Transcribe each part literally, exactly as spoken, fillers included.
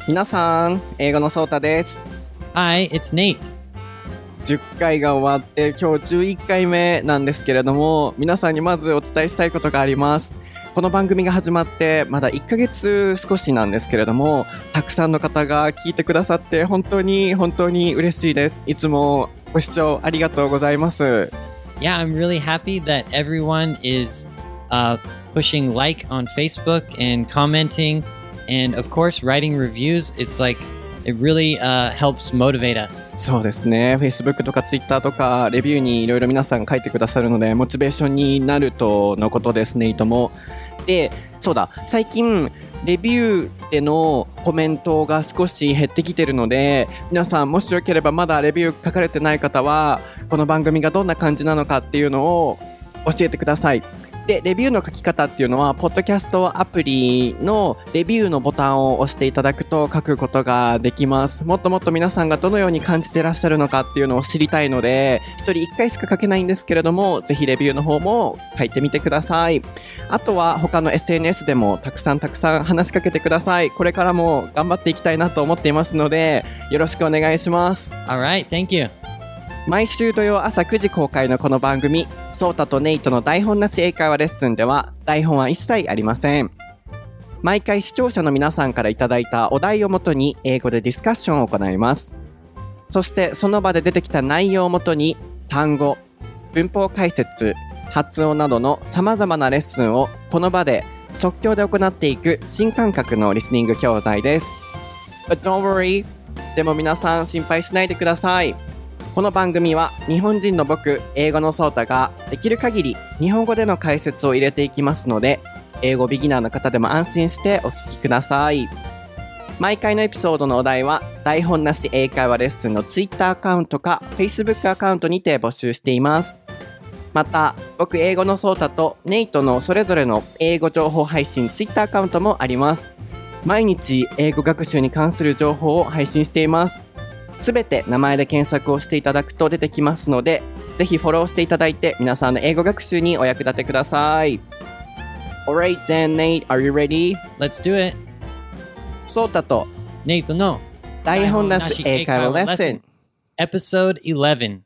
皆さん、英語のソータです。 Hi, it's Nate. じゅっかいが終わって今日じゅういっかいめなんですけれども、皆さんにまずお伝えしたいことがあります。この番組が始まってまだいっかげつ少しなんですけれども、たくさんの方が聞いてくださって本当に本当に嬉しいです。いつもご視聴ありがとうございます。 Yeah, I'm really happy that everyone is、uh, pushing like on Facebook and commenting and of course writing reviews. It's like it really、uh, helps motivate us. そうですね。Facebook とか Twitter とかレビューにいろいろ皆さん書いてくださるのでモチベーションになるとのことですね。いとも。で、そうだ。最近レビューでのコメントが少し減ってきてるので、皆さんもしよければまだレビュー書かれてない方はこの番組がどんな感じなのかっていうのを教えてください。で、レビューの書き方っていうのはポッドキャストアプリのレビューのボタンを押していただくと書くことができます。もっともっと皆さんがどのように感じてらっしゃるのかっていうのを知りたいので、一人一回しか書けないんですけれども、ぜひレビューの方も書いてみてください。あとは他の エスエヌエス でもたくさんたくさん話しかけてください。これからも頑張っていきたいなと思っていますので、よろしくお願いします。 Alright, thank you. 毎週土曜朝くじ公開のこの番組、ソータとネイトの台本なし英会話レッスンでは台本は一切ありません。毎回視聴者の皆さんからいただいたお題をもとに英語でディスカッションを行います。そしてその場で出てきた内容をもとに単語、文法解説、発音などの様々なレッスンをこの場で即興で行っていく新感覚のリスニング教材です。But don't worry. でも皆さん心配しないでください。この番組は日本人の僕、英語のソータができる限り日本語での解説を入れていきますので、英語ビギナーの方でも安心してお聞きください。毎回のエピソードのお題は台本なし英会話レッスンの Twitter アカウントか Facebook アカウントにて募集しています。また、僕英語のソータとネイトのそれぞれの英語情報配信 Twitter アカウントもあります。毎日英語学習に関する情報を配信しています。すべて名前で検索をしていただくと出てきますので、ぜひフォローしていただいて皆さんの英語学習にお役立てください。Alright then, Nate, are you ready? Let's do it. ソータとネイトの台本なし英会話レッスン Episode eleven.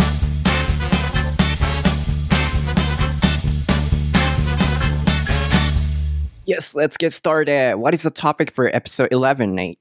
Yes, let's get started. What is the topic for episode eleven, Nate?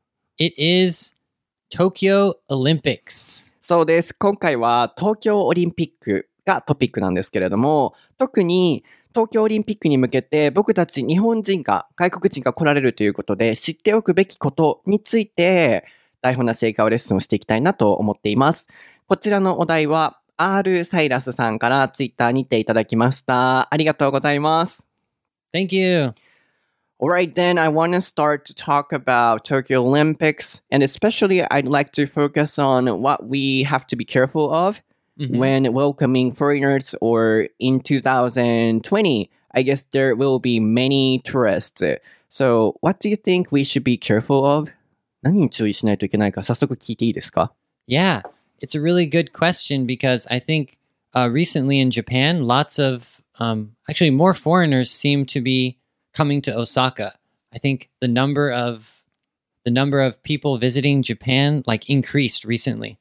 It is Tokyo Olympics. そうです。今回は東京オリンピックがトピックなんですけれども、特に東京オリンピックに向けて僕たち日本人が外国人が来られるということで知っておくべきことについて台本なし英会話レッスンをしていきたいなと思っています。こちらのお題は R サイラスさんからツイッターにていただきました。ありがとうございます。 Thank you.Alright, then I want to start to talk about Tokyo Olympics, and especially I'd like to focus on what we have to be careful of mm-hmm. when welcoming foreigners, or in two thousand twenty, I guess there will be many tourists. So what do you think we should be careful of? 何に注意しないといけないか早速聞いていいですか? Yeah, it's a really good question because I think、uh, recently in Japan, lots of, um, actually more foreigners seem to be coming to Osaka. I think the number of the number of people visiting Japan like increased recently.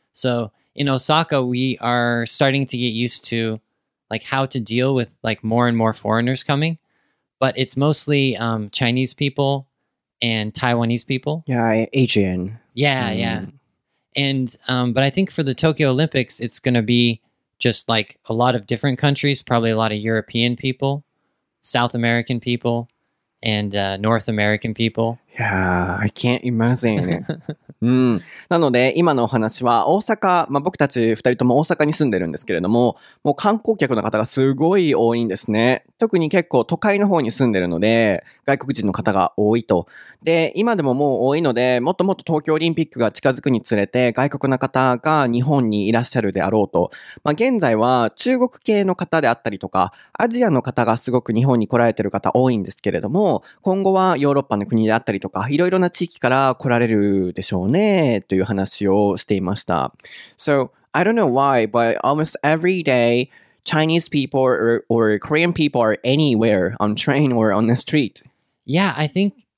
So in Osaka, we are starting to get used to like how to deal with like more and more foreigners coming, but it's mostly um, Chinese people and Taiwanese people. Yeah, Asian. Yeah, mm. yeah. And um, but I think for the Tokyo Olympics, it's going to be just like a lot of different countries, probably a lot of European people.South American people and、uh, North American people. Yeah, I can't imagine. うん、なので今のお話は大阪、まあ、僕たちふたりとも大阪に住んでるんですけれども、もう観光客の方がすごい多いんですね。特に結構都会の方に住んでるので外国人の方が多いと。で、今でももう多いので、もっともっと東京オリンピックが近づくにつれて外国の方が日本にいらっしゃるであろうと。まあ、現在は中国系の方であったりとかアジアの方がすごく日本に来られてる方多いんですけれども、今後はヨーロッパの国であったりとかいろいろな地域から来られるでしょうねという話をしていました。So, I don't know why, but almost every day Chinese people or, or Korean people are anywhere on train or on the street. Yeah, I think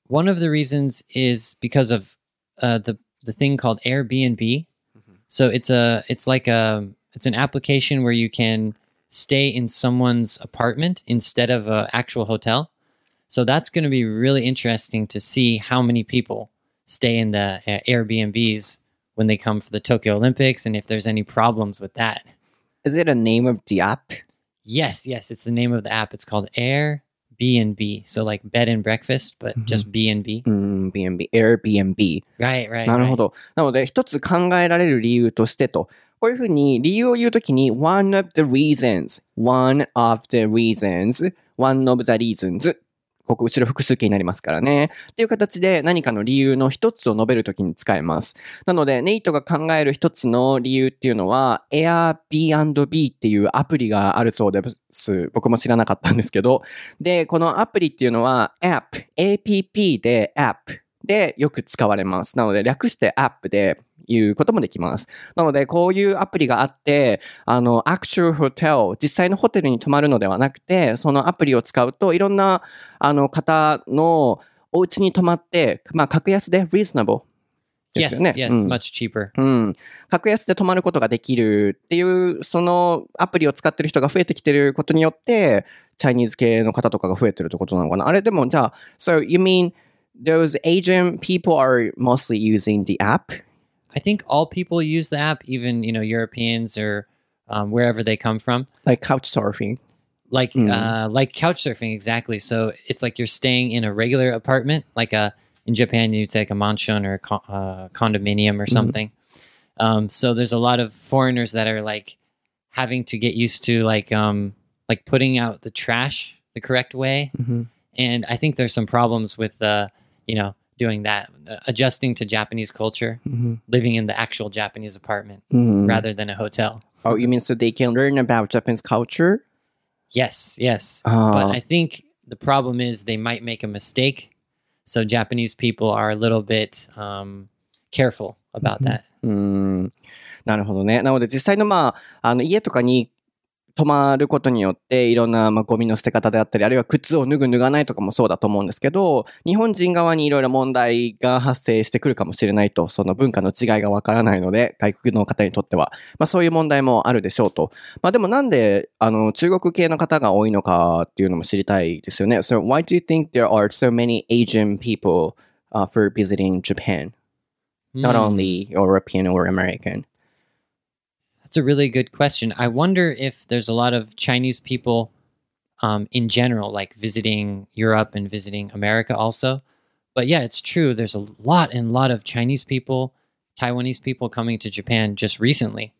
one of the reasons is because of uh, the the thing called Airbnb. Mm-hmm. So it's a it's like a it's an application where you can stay in someone's apartment instead of an actual hotel. So that's going to be really interesting to see how many people stay in the uh, Airbnbs when they come for the Tokyo Olympics and if there's any problems with that. Is it a name of the app? Yes, yes, it's the name of the app. It's called Airbnb. So like bed and breakfast, but mm-hmm. just B and B. うん、B and B、Airbnb。 Right, right. なるほど。なので、一つ考えられる理由としてと、こういうふうに理由を言うときに one of the reasons, one of the reasons, one of the reasons ここ後ろ複数形になりますからね。っていう形で何かの理由の一つを述べるときに使えます。なので、ネイトが考える一つの理由っていうのは Airbnb っていうアプリがあるそうです。僕も知らなかったんですけど。で、このアプリっていうのは App、エーピーピー で App でよく使われます。なので、略して App でいうこともできます。なので、こういうアプリがあって、あの、actual hotel、実際のホテルに泊まるのではなくて、そのアプリを使うと、いろんな、あの、方のお家に泊まって、まあ、格安で reasonable ですよね。 Yes, yes,、うん、much cheaper. うん。格安で泊まることができるっていう、そのアプリを使ってる人が増えてきてることによって、チャイニーズ系の方とかが増えてるってことなのかな。あれでも、じゃあ、so you mean those Asian people are mostly using the app?I think all people use the app, even, you know, Europeans or um, wherever they come from. Like couch surfing. Like mm. uh, like couch surfing, exactly. So it's like you're staying in a regular apartment, like a, in Japan, you'd say like a mansion or a con- uh, condominium or something. Mm. Um, so there's a lot of foreigners that are like having to get used to like um, like putting out the trash the correct way. Mm-hmm. And I think there's some problems with, uh, you know, doing that, uh, adjusting to Japanese culture, mm-hmm. living in the actual Japanese apartment mm-hmm. rather than a hotel. Oh, you mean so they can learn about Japanese culture? Yes, yes. Uh. But I think the problem is they might make a mistake. So Japanese people are a little bit um, careful about that. うん、なるほどね。なので実際のまあ、あの家とかに泊まることによっていろんなまあゴミの捨て方であったり、あるいは靴を脱ぐ脱がないとかもそうだと思うんですけど、日本人側にいろいろ問題が発生してくるかもしれないと、その文化の違いがわからないので、外国の方にとっては、まあそういう問題もあるでしょうと。まあでもなんであの中国系の方が多いのかっていうのも知りたいですよね。So why do you think there are so many Asian people、uh, for visiting Japan? Not only European or American.That's a really good question. I wonder if there's a lot of Chinese people um, in general, like visiting Europe and visiting America also. But yeah, it's true. There's a lot and lot of Chinese people, Taiwanese people coming to Japan just recently.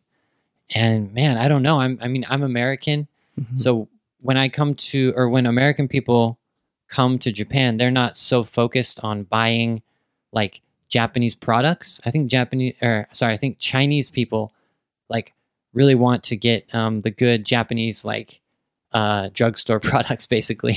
And man, I don't know. I'm, I mean, I'm American. Mm-hmm. So when I come to, or when American people come to Japan, they're not so focused on buying like Japanese products. I think Japanese, or sorry, I think Chinese people like really want to get um, the good Japanese like uh, drugstore products, basically.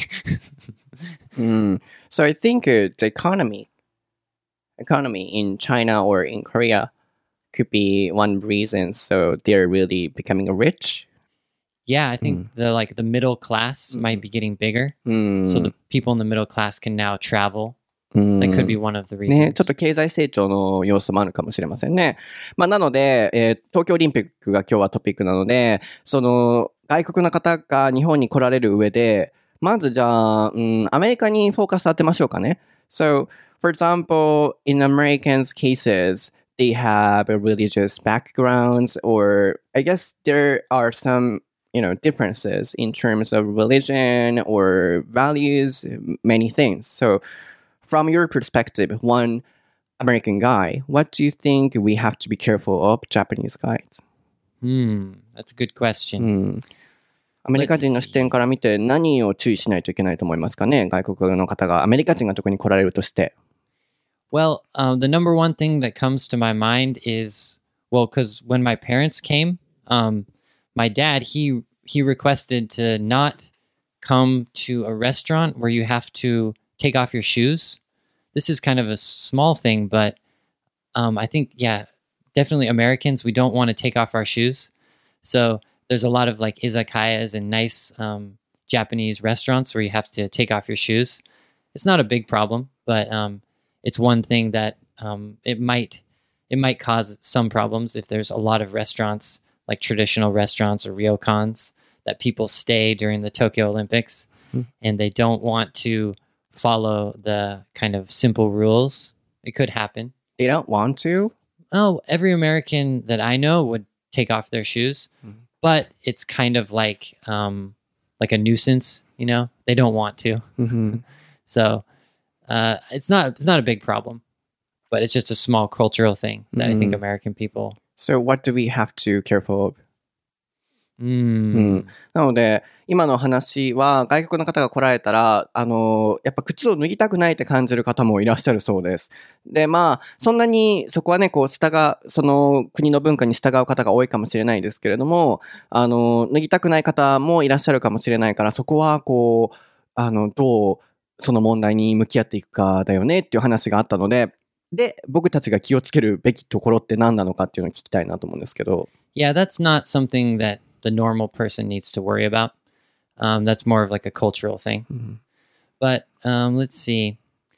mm. So I think uh, the economy, economy in China or in Korea could be one reason. So they're really becoming rich. Yeah, I think mm. the like the middle class mm. might be getting bigger. Mm. So the people in the middle class can now travel.That could be one of the reasons. ね、ちょっと経済成長の要素もあるかもしれませんね。まあ、なので、えー、東京オリンピックが今日はトピックなので、その外国の方が日本に来られる上で、まずじゃあ、うん、アメリカにフォーカス当てましょうかね。So, for example, in Americans' cases, they have a religious backgrounds, or I guess there are some, you know, differences in terms of religion or values, many things. So,From your perspective, one American guy, what do you think we have to be careful of Japanese guys? Hmm, that's a good question. アメリカ人の視点から見て何を注意しないといけないと思いますかね？外国の方がアメリカ人が特に来られるとして。 Well, um, the number one thing that comes to my mind is, well, because when my parents came, um, my dad, he he requested to not come to a restaurant where you have to take off your shoes.This is kind of a small thing, but um, I think, yeah, definitely Americans, we don't want to take off our shoes. So there's a lot of like izakayas and nice um, Japanese restaurants where you have to take off your shoes. It's not a big problem, but um, it's one thing that um, it might it might cause some problems if there's a lot of restaurants, like traditional restaurants or ryokans, that people stay during the Tokyo Olympics, Mm. and they don't want to follow the kind of simple rules. It could happen. They don't want to? Oh, every American that I know would take off their shoes, Mhm. but it's kind of like um, like a nuisance, you know? They don't want to. Mhm. So uh, it's not it's not a big problem, but it's just a small cultural thing that I think Mhm. American people. So what do we have to careful of? Mm. なので、今の話は外国の方が来られたら、あの、やっぱ靴を脱ぎたくないって感じる方もいらっしゃるそうです。で、まあ、そんなにそこはね、こう、従う、その国の文化に従う方が多いかもしれないですけれども、あの、脱ぎたくない方もいらっしゃるかもしれないから、そこはこう、あの、どうその問題に向き合っていくかだよねっていう話があったので、で、僕たちが気をつけるべきところって何なのかっていうのを聞きたいなと思うんですけど。 Yeah, that's not something that the normal person needs to worry about. Um, that's more of like a cultural thing. Mhm. But um, let's see.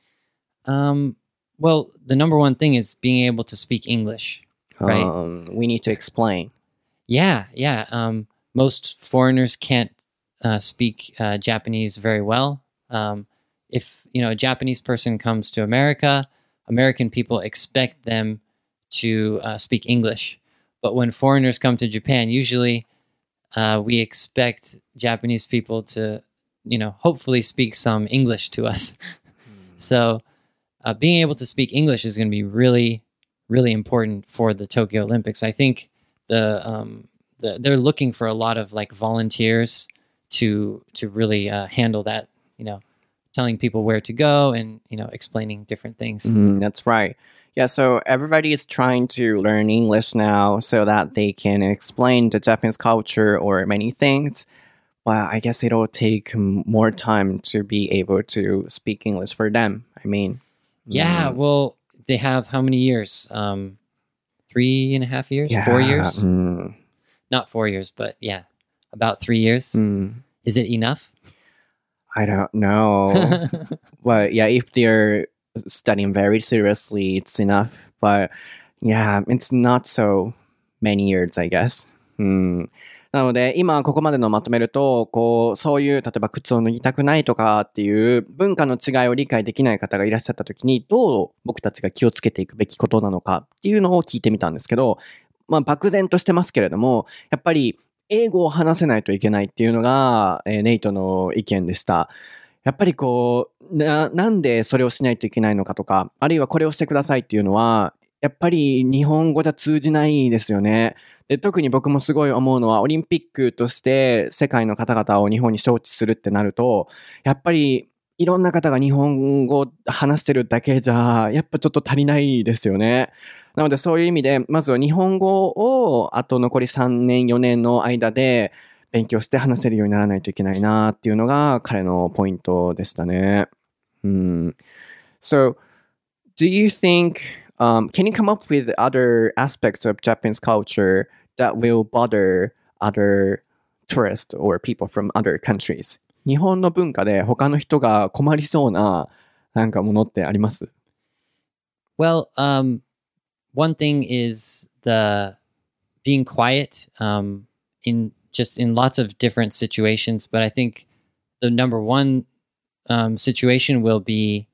Um, well, the number one thing is being able to speak English. Right. Um, we need to explain. Yeah, yeah. Um, most foreigners can't uh, speak uh, Japanese very well. Um, if you know a Japanese person comes to America, American people expect them to uh, speak English. But when foreigners come to Japan, usually uh, we expect Japanese people to, you know, hopefully speak some English to us. So uh, being able to speak English is going to be really, really important for the Tokyo Olympics. I think the, um, the they're looking for a lot of like volunteers to to really uh, handle that. You know, telling people where to go and you know explaining different things. Mm, that's right. Yeah, so everybody is trying to learn English now so that they can explain the Japanese culture or many things. But I guess it'll take more time to be able to speak English for them. I mean, Yeah, mm, well, they have how many years? Um, three and a half years? yeah, Four years? mm, Not four years, but yeah, about three years. mm, Is it enough? I don't know. But yeah, if they're studying very seriously, it's enough. But yeah, it's not so many years, I guess. うん。なので、今ここまでのまとめると、こう、そういう、例えば靴を脱ぎたくないとかっていう文化の違いを理解できない方がいらっしゃった時に、どう僕たちが気をつけていくべきことなのかっていうのを聞いてみたんですけど、まあ、漠然としてますけれども、やっぱり英語を話せないといけないっていうのが、えーネイトの意見でした。やっぱりこう、な、なんでそれをしないといけないのかとか、あるいはこれをしてくださいっていうのは、やっぱり日本語じゃ通じないですよね。で、特に僕もすごい思うのは、オリンピックとして世界の方々を日本に招致するってなると、やっぱりいろんな方が日本語を話してるだけじゃ、やっぱちょっと足りないですよね。なのでそういう意味で、まずは日本語をあと残りさんねん、よねんの間で勉強して話せるようにならないといけないなっていうのが彼のポイントでしたね。うん。So, do you think, um, can you come up with other aspects of Japanese culture that will bother other tourists or people from other countries? 日本の文化で他の人が困りそうななんかものってあります？ Well, um, one thing is the being quiet um, in just in lots of different situations. But I think the number one um, situation will be,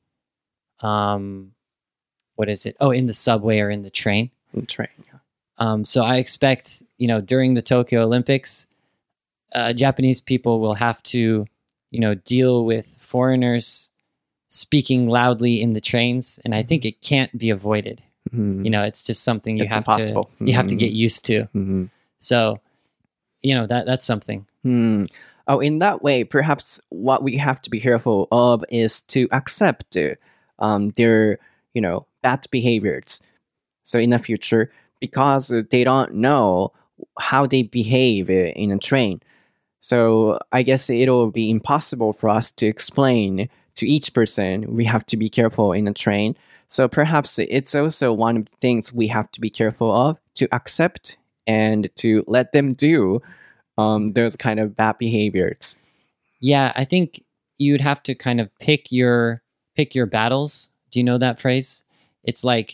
um, what is it? Oh, in the subway or in the train. Train. Um, so I expect, you know, during the Tokyo Olympics, uh, Japanese people will have to, you know, deal with foreigners speaking loudly in the trains, and I think it can't be avoided. Mm-hmm. You know, it's just something you It's have impossible. to you have to Mhm. get used to. Mm-hmm. So, you know, that that's something. Hmm. Oh, in that way, perhaps what we have to be careful of is to accept um, their, you know, bad behaviors. So in the future, because they don't know how they behave in a train. So I guess it'll be impossible for us to explain to each person we have to be careful in a train. So perhaps it's also one of the things we have to be careful of, to accept and to let them do um, those kind of bad behaviors. Yeah, I think you'd have to kind of pick your pick your battles. Do you know that phrase? It's like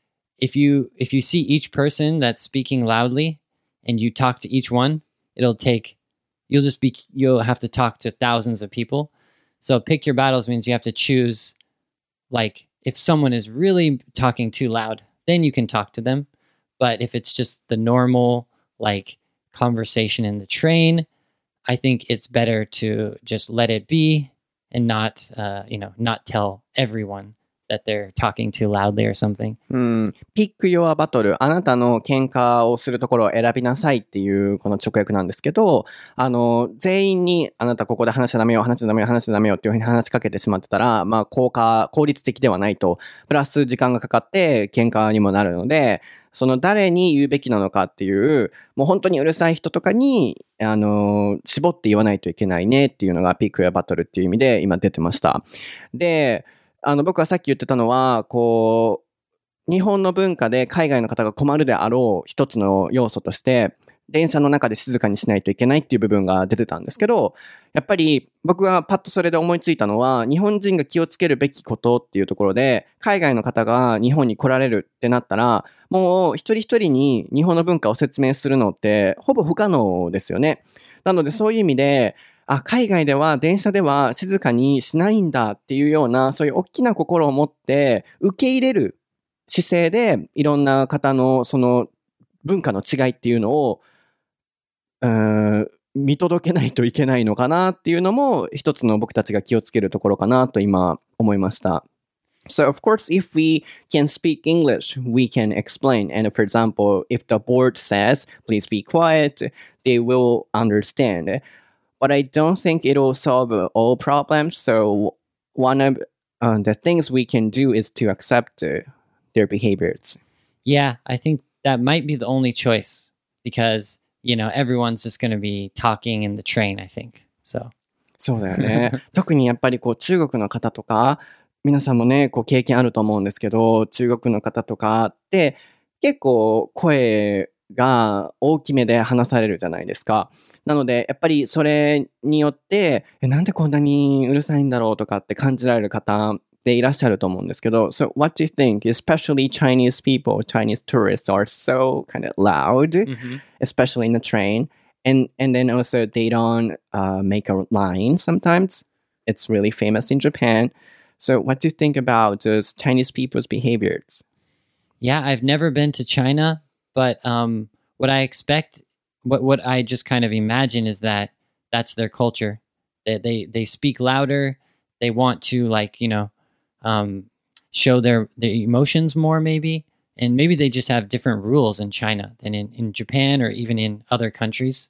if you if you see each person that's speaking loudly and you talk to each one, it'll take you'll just be you'll have to talk to thousands of people. So pick your battles means you have to choose, like, if someone is really talking too loud, then you can talk to them. But if it's just the normal, like, conversation in the train, I think it's better to just let it be and not, uh, you know, not tell everyone that they're talking too loudly or something. うん。Pick your battle. あなたの喧嘩をするところを選びなさいっていうこの直訳なんですけど、あの、全員にあなたここで話しちゃダメよ、話しちゃダメよ、話しちゃダメよっていうふうに話しかけてしまってたら、まあ、効果、効率的ではないと。プラス時間がかかって喧嘩にもなるので、その誰に言うべきなのかっていう、もう本当にうるさい人とかに、あの、絞って言わないといけないねっていうのが Pick your battle っていう意味で今出てました。で、あの、僕はさっき言ってたのは、こう、日本の文化で海外の方が困るであろう一つの要素として、電車の中で静かにしないといけないっていう部分が出てたんですけど、やっぱり僕がパッとそれで思いついたのは、日本人が気をつけるべきことっていうところで、海外の方が日本に来られるってなったら、もう一人一人に日本の文化を説明するのってほぼ不可能ですよね。なのでそういう意味で、あ、海外では電車では静かにしないんだっていうような、そういう大きな心を持って受け入れる姿勢で、いろんな方のその文化の違いっていうのを、うーん、見届けないといけないのかなっていうのも、一つの僕たちが気をつけるところかなと今思いました。So, of course, if we can speak English, we can explain. And for example, if the board says, please be quiet, they will understand.But I don't think it will solve all problems. So one of uh, the things we can do is to accept uh, their behaviors. Yeah, I think that might be the only choice because, you know, everyone's just going to be talking in the train, I think. So. そうだよね。特にやっぱりこう中国の方とか、皆さんもね、こう経験あると思うんですけど、中国の方とかって結構声が大きめで話されるじゃないですか。なので、やっぱりそれによって、え、なんでこんなにうるさいんだろうとかって感じられる方でいらっしゃると思うんですけど、So what do you think? Especially Chinese people, Chinese tourists are so kind of loud, Mm-hmm. especially in the train. And, and then also they don't uh, make a line sometimes. It's really famous in Japan. So what do you think about those Chinese people's behaviors? Yeah, I've never been to China.But um, what I expect, what what I just kind of imagine is that that's their culture. They they they speak louder. They want to, like, you know, um, show their their emotions more, maybe, and maybe they just have different rules in China than in, in Japan or even in other countries.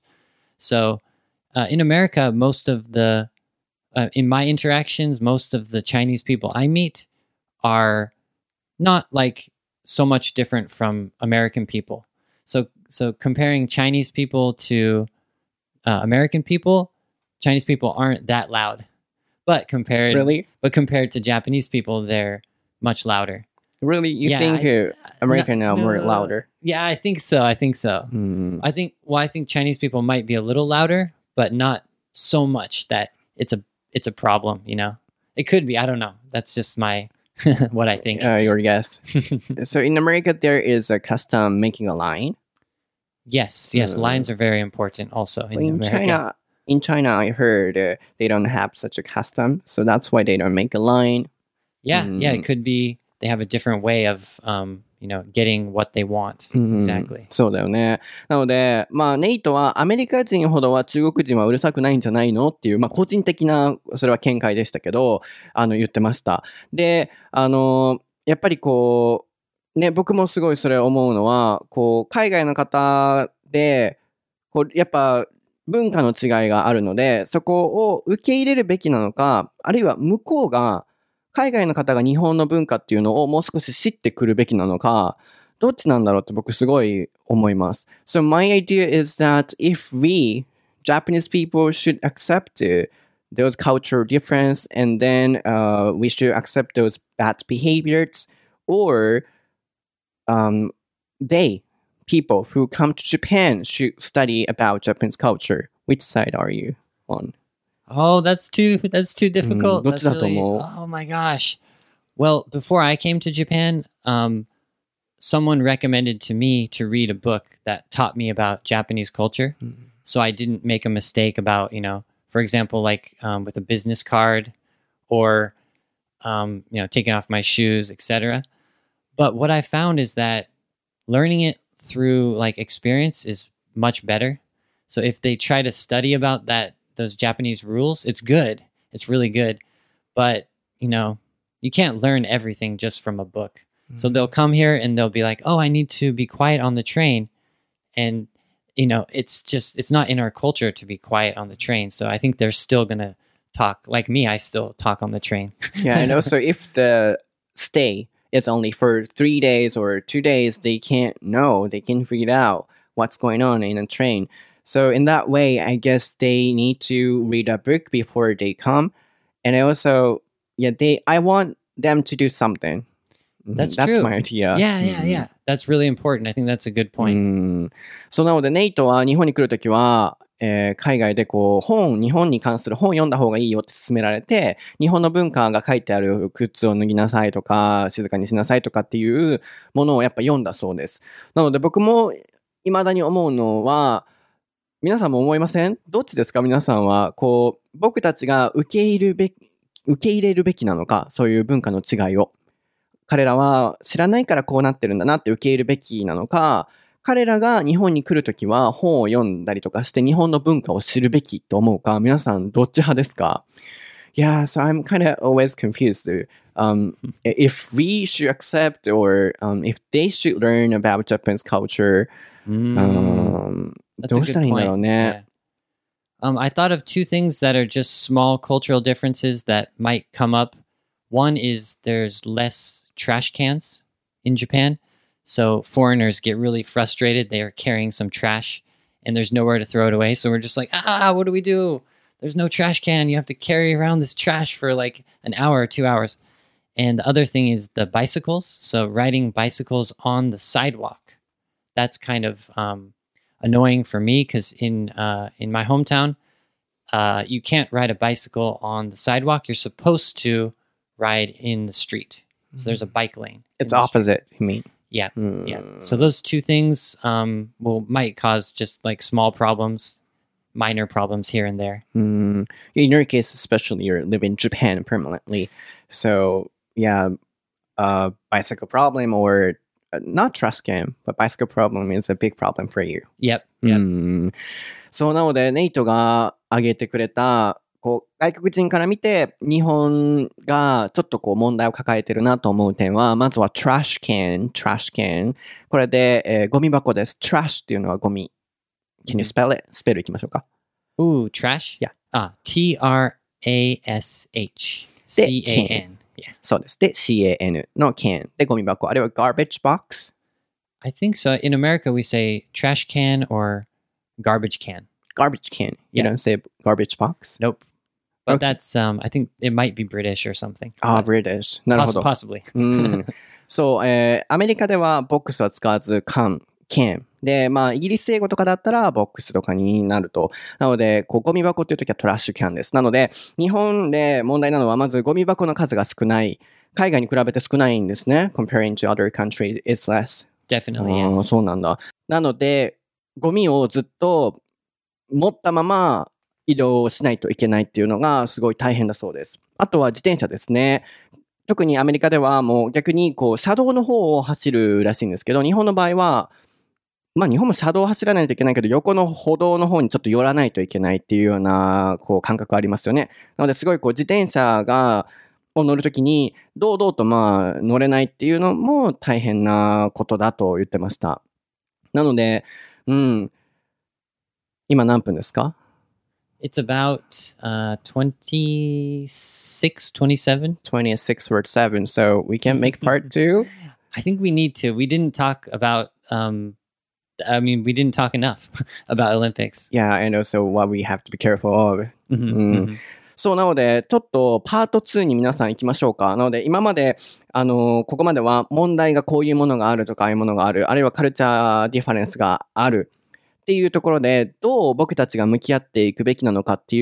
So uh, in America, most of the uh, in my interactions, most of the Chinese people I meet are not like so much different from American people. So so comparing Chinese people to uh, American people, Chinese people aren't that loud. But compared Really? but compared to Japanese people, they're much louder. Really? You Yeah, think I- uh, American no, are more no. louder? Yeah, I think so. I think so. Hmm. I think well, I think Chinese people might be a little louder, but not so much that it's a it's a problem, you know. It could be, I don't know. That's just my what I think. Uh, your guess. So in America, there is a custom making a line. Yes, yes, Uh, lines are very important also in, In America. China, in China, I heard uh, they don't have such a custom, so that's why they don't make a line. Yeah, yeah, Mm. it could be they have a different way of um, you know, getting what they want. うん Exactly. そうだよね。なので、まあ、ネイトはアメリカ人ほどは中国人はうるさくないんじゃないのっていう、まあ、個人的な、それは見解でしたけど、あの、言ってました。で、あの、やっぱりこう、ね、僕もすごいそれ思うのは、こう、海外の方で、こう、やっぱ、文化の違いがあるので、そこを受け入れるべきなのか、あるいは向こうが、海外の方が日本の文化っていうのをもう少し知ってくるべきなのか、どっちなんだろうって僕すごい思います。So my idea is that if we, Japanese people, should accept uh, those cultural difference and then uh, we should accept those bad behaviors, or um, they, people who come to Japan, should study about Japanese culture. Which side are you on? Oh, that's too that's too difficult. うん、どっちだと思う？ That's really, oh my gosh. Well, before I came to Japan, um, someone recommended to me to read a book that taught me about Japanese culture. So I didn't make a mistake about, you know, for example, like um, with a business card or, um, you know, taking off my shoes, et cetera. But what I found is that learning it through like experience is much better. So if they try to study about that, those Japanese rules, it's good. It's really good. But, you know, you can't learn everything just from a book. Mm-hmm. So they'll come here and they'll be like, oh, I need to be quiet on the train. And, you know, it's just, it's not in our culture to be quiet on the train. So I think they're still going to talk. Like me, I still talk on the train. Yeah, and also if the stay is only for three days or two days, they can't know, they can't figure out what's going on in a train. So in that way, I guess they need to read a book before they come. And also, yeah, they, I want them to do something. That's That's true. my idea. Yeah, yeah, yeah. That's really important. I think that's a good point. うん。そうなので、ネイトは日本に来るときは、えー海外でこう本、日本に関する本読んだ方がいいよって勧められて、日本の文化が書いてある靴を脱ぎなさいとか、静かにしなさいとかっていうものをやっぱ読んだそうです。なので僕も未だに思うのは、皆さんも思いません？どっちですか？皆さんは、こう、僕たちが受け入れるべき、受け入れるべきなのか、そういう文化の違いを。彼らは知らないからこうなってるんだなって受け入れるべきなのか、彼らが日本に来るときは本を読んだりとかして日本の文化を知るべきと思うか、皆さんどっち派ですか？ Yeah, so I'm kind of always confused. Um, if we should accept or um, if they should learn about Japanese culture, Mm, um, that's ど a うしたら good いいんだろう point. ね。 Yeah. Um, I thought of two things that are just small cultural differences that might come up. One is there's less trash cans in Japan. So foreigners get really frustrated. They are carrying some trash and there's nowhere to throw it away. So we're just like, ah, what do we do? There's no trash can. You have to carry around this trash for like an hour or two hours. And the other thing is the bicycles. So riding bicycles on the sidewalk. That's kind of um, annoying for me because in uh, in my hometown, uh, you can't ride a bicycle on the sidewalk. You're supposed to ride in the street. So there's a bike lane. It's opposite, you mean? Yeah, Hmm. yeah. So those two things um, will might cause just like small problems, minor problems here and there. Mm. In your case, especially, you live in Japan permanently. So, yeah, uh, bicycle problem or uh, not trash can, but bicycle problem is a big problem for you. Yep, yep. うん。そうなので、ネイトが挙げてくれた、こう、外国人から見て、日本がちょっとこう問題を抱えてるなと思う点は、まずは trash can, trash can。これで、えーゴミ箱です。trash っていうのはゴミ。Can you spell it? スペルいきましょうか。 Ooh, trash? Yeah. Ah, T R A S H C A N. Yeah. そうです。で、シーエーエヌ の can でゴミ箱。あれは garbage box? I think so. In America, we say trash can or garbage can. Garbage can. You Yeah. don't say garbage box? Nope. But Okay. that's, um, I think it might be British or something. ああ、 But British. なるほ poss- ど。 possibly. うん。そう、えー、アメリカではボックスは使わず、can, can。で、まあ、イギリス英語とかだったら、ボックスとかになると。なので、こう、ゴミ箱っていうときはトラッシュキャンです。なので、日本で問題なのは、まずゴミ箱の数が少ない。海外に比べて少ないんですね。Comparing to other countries, it's less. Definitely, あー yes. そうなんだ。なので、ゴミをずっと持ったまま移動しないといけないっていうのがすごい大変だそうです。あとは自転車ですね。特にアメリカではもう逆にこう車道の方を走るらしいんですけど、日本の場合は、まあ日本も車道を走らないといけないけど、横の歩道の方にちょっと寄らないといけないっていうようなこう感覚ありますよね。なのですごいこう自転車がを乗るときに堂々とまあ乗れないっていうのも大変なことだと言ってました。なので、うん。今何分ですか？ It's about uh, twenty-six, twenty-seven. twenty-six or seven, so we can make part two? I think we need to. We didn't talk about, um, I mean, we didn't talk enough about Olympics. Yeah, and also what we have to be careful of. Mhm, うん mhm. そうなので、ちょっとパートツーに皆さん行きましょうか。なので、今まで、あのーここまでは問題がこういうものがあるとか、ああいうものがある、あるいはカルチャーディファレンスがあるっていうところで、どう僕たちが向き合っていくべきなのかっていう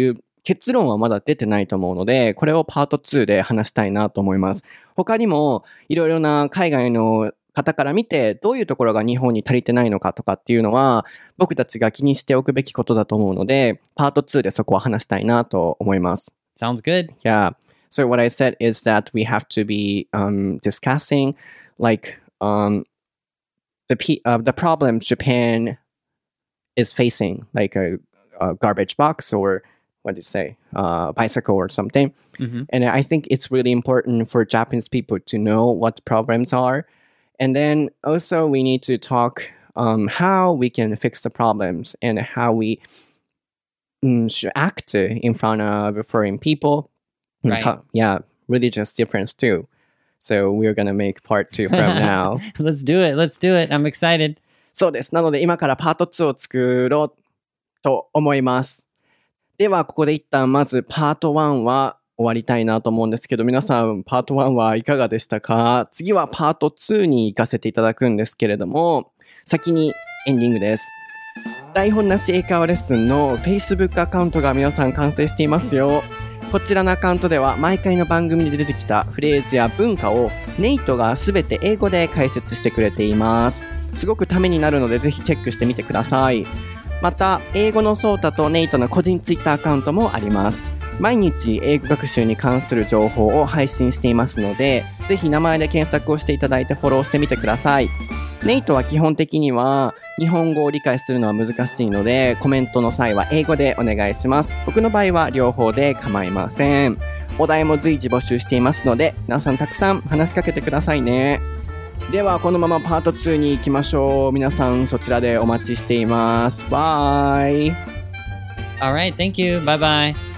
結論はまだ出てないと思うので、これをパートツーで話したいなと思います。他にもいろいろな海外の方から見てどういうところが日本に足りてないのかとかっていうのは僕たちが気にしておくべきことだと思うので、パートツーでそこは話したいなと思います。 Sounds good. Yeah. So what I said is that we have to be um, discussing like um, the p- uh, the problem Japan is facing, like a, a garbage box or what do you say, uh, bicycle or something. Mm-hmm. And I think it's really important for Japanese people to know what problems are. And then also we need to talk um, how we can fix the problems and how we um, should act in front of foreign people. Right. Yeah, religious difference too. So we're gonna make part two from now. Let's do it. Let's do it. I'm excited. そうです。なので今からパートツーを作ろうと思います。ではここで一旦まずパートワンは終わりたいなと思うんですけど、皆さんパートワンはいかがでしたか？次はパートツーに行かせていただくんですけれども、先にエンディングです。台本なし英会話レッスンの Facebook アカウントが皆さん完成していますよ。こちらのアカウントでは毎回の番組で出てきたフレーズや文化をネイトがすべて英語で解説してくれています。すごくためになるのでぜひチェックしてみてください。また英語のソータとネイトの個人ツイッターアカウントもあります。毎日英語学習に関する情報を配信していますので、ぜひ名前で検索をしていただいてフォローしてみてください。ネイトは基本的には日本語を理解するのは難しいので、コメントの際は英語でお願いします。僕の場合は両方で構いません。お題も随時募集していますので、皆さんたくさん話しかけてくださいね。ではこのままパートツーに行きましょう。皆さんそちらでお待ちしています。バイ。 All right, thank you. Bye bye.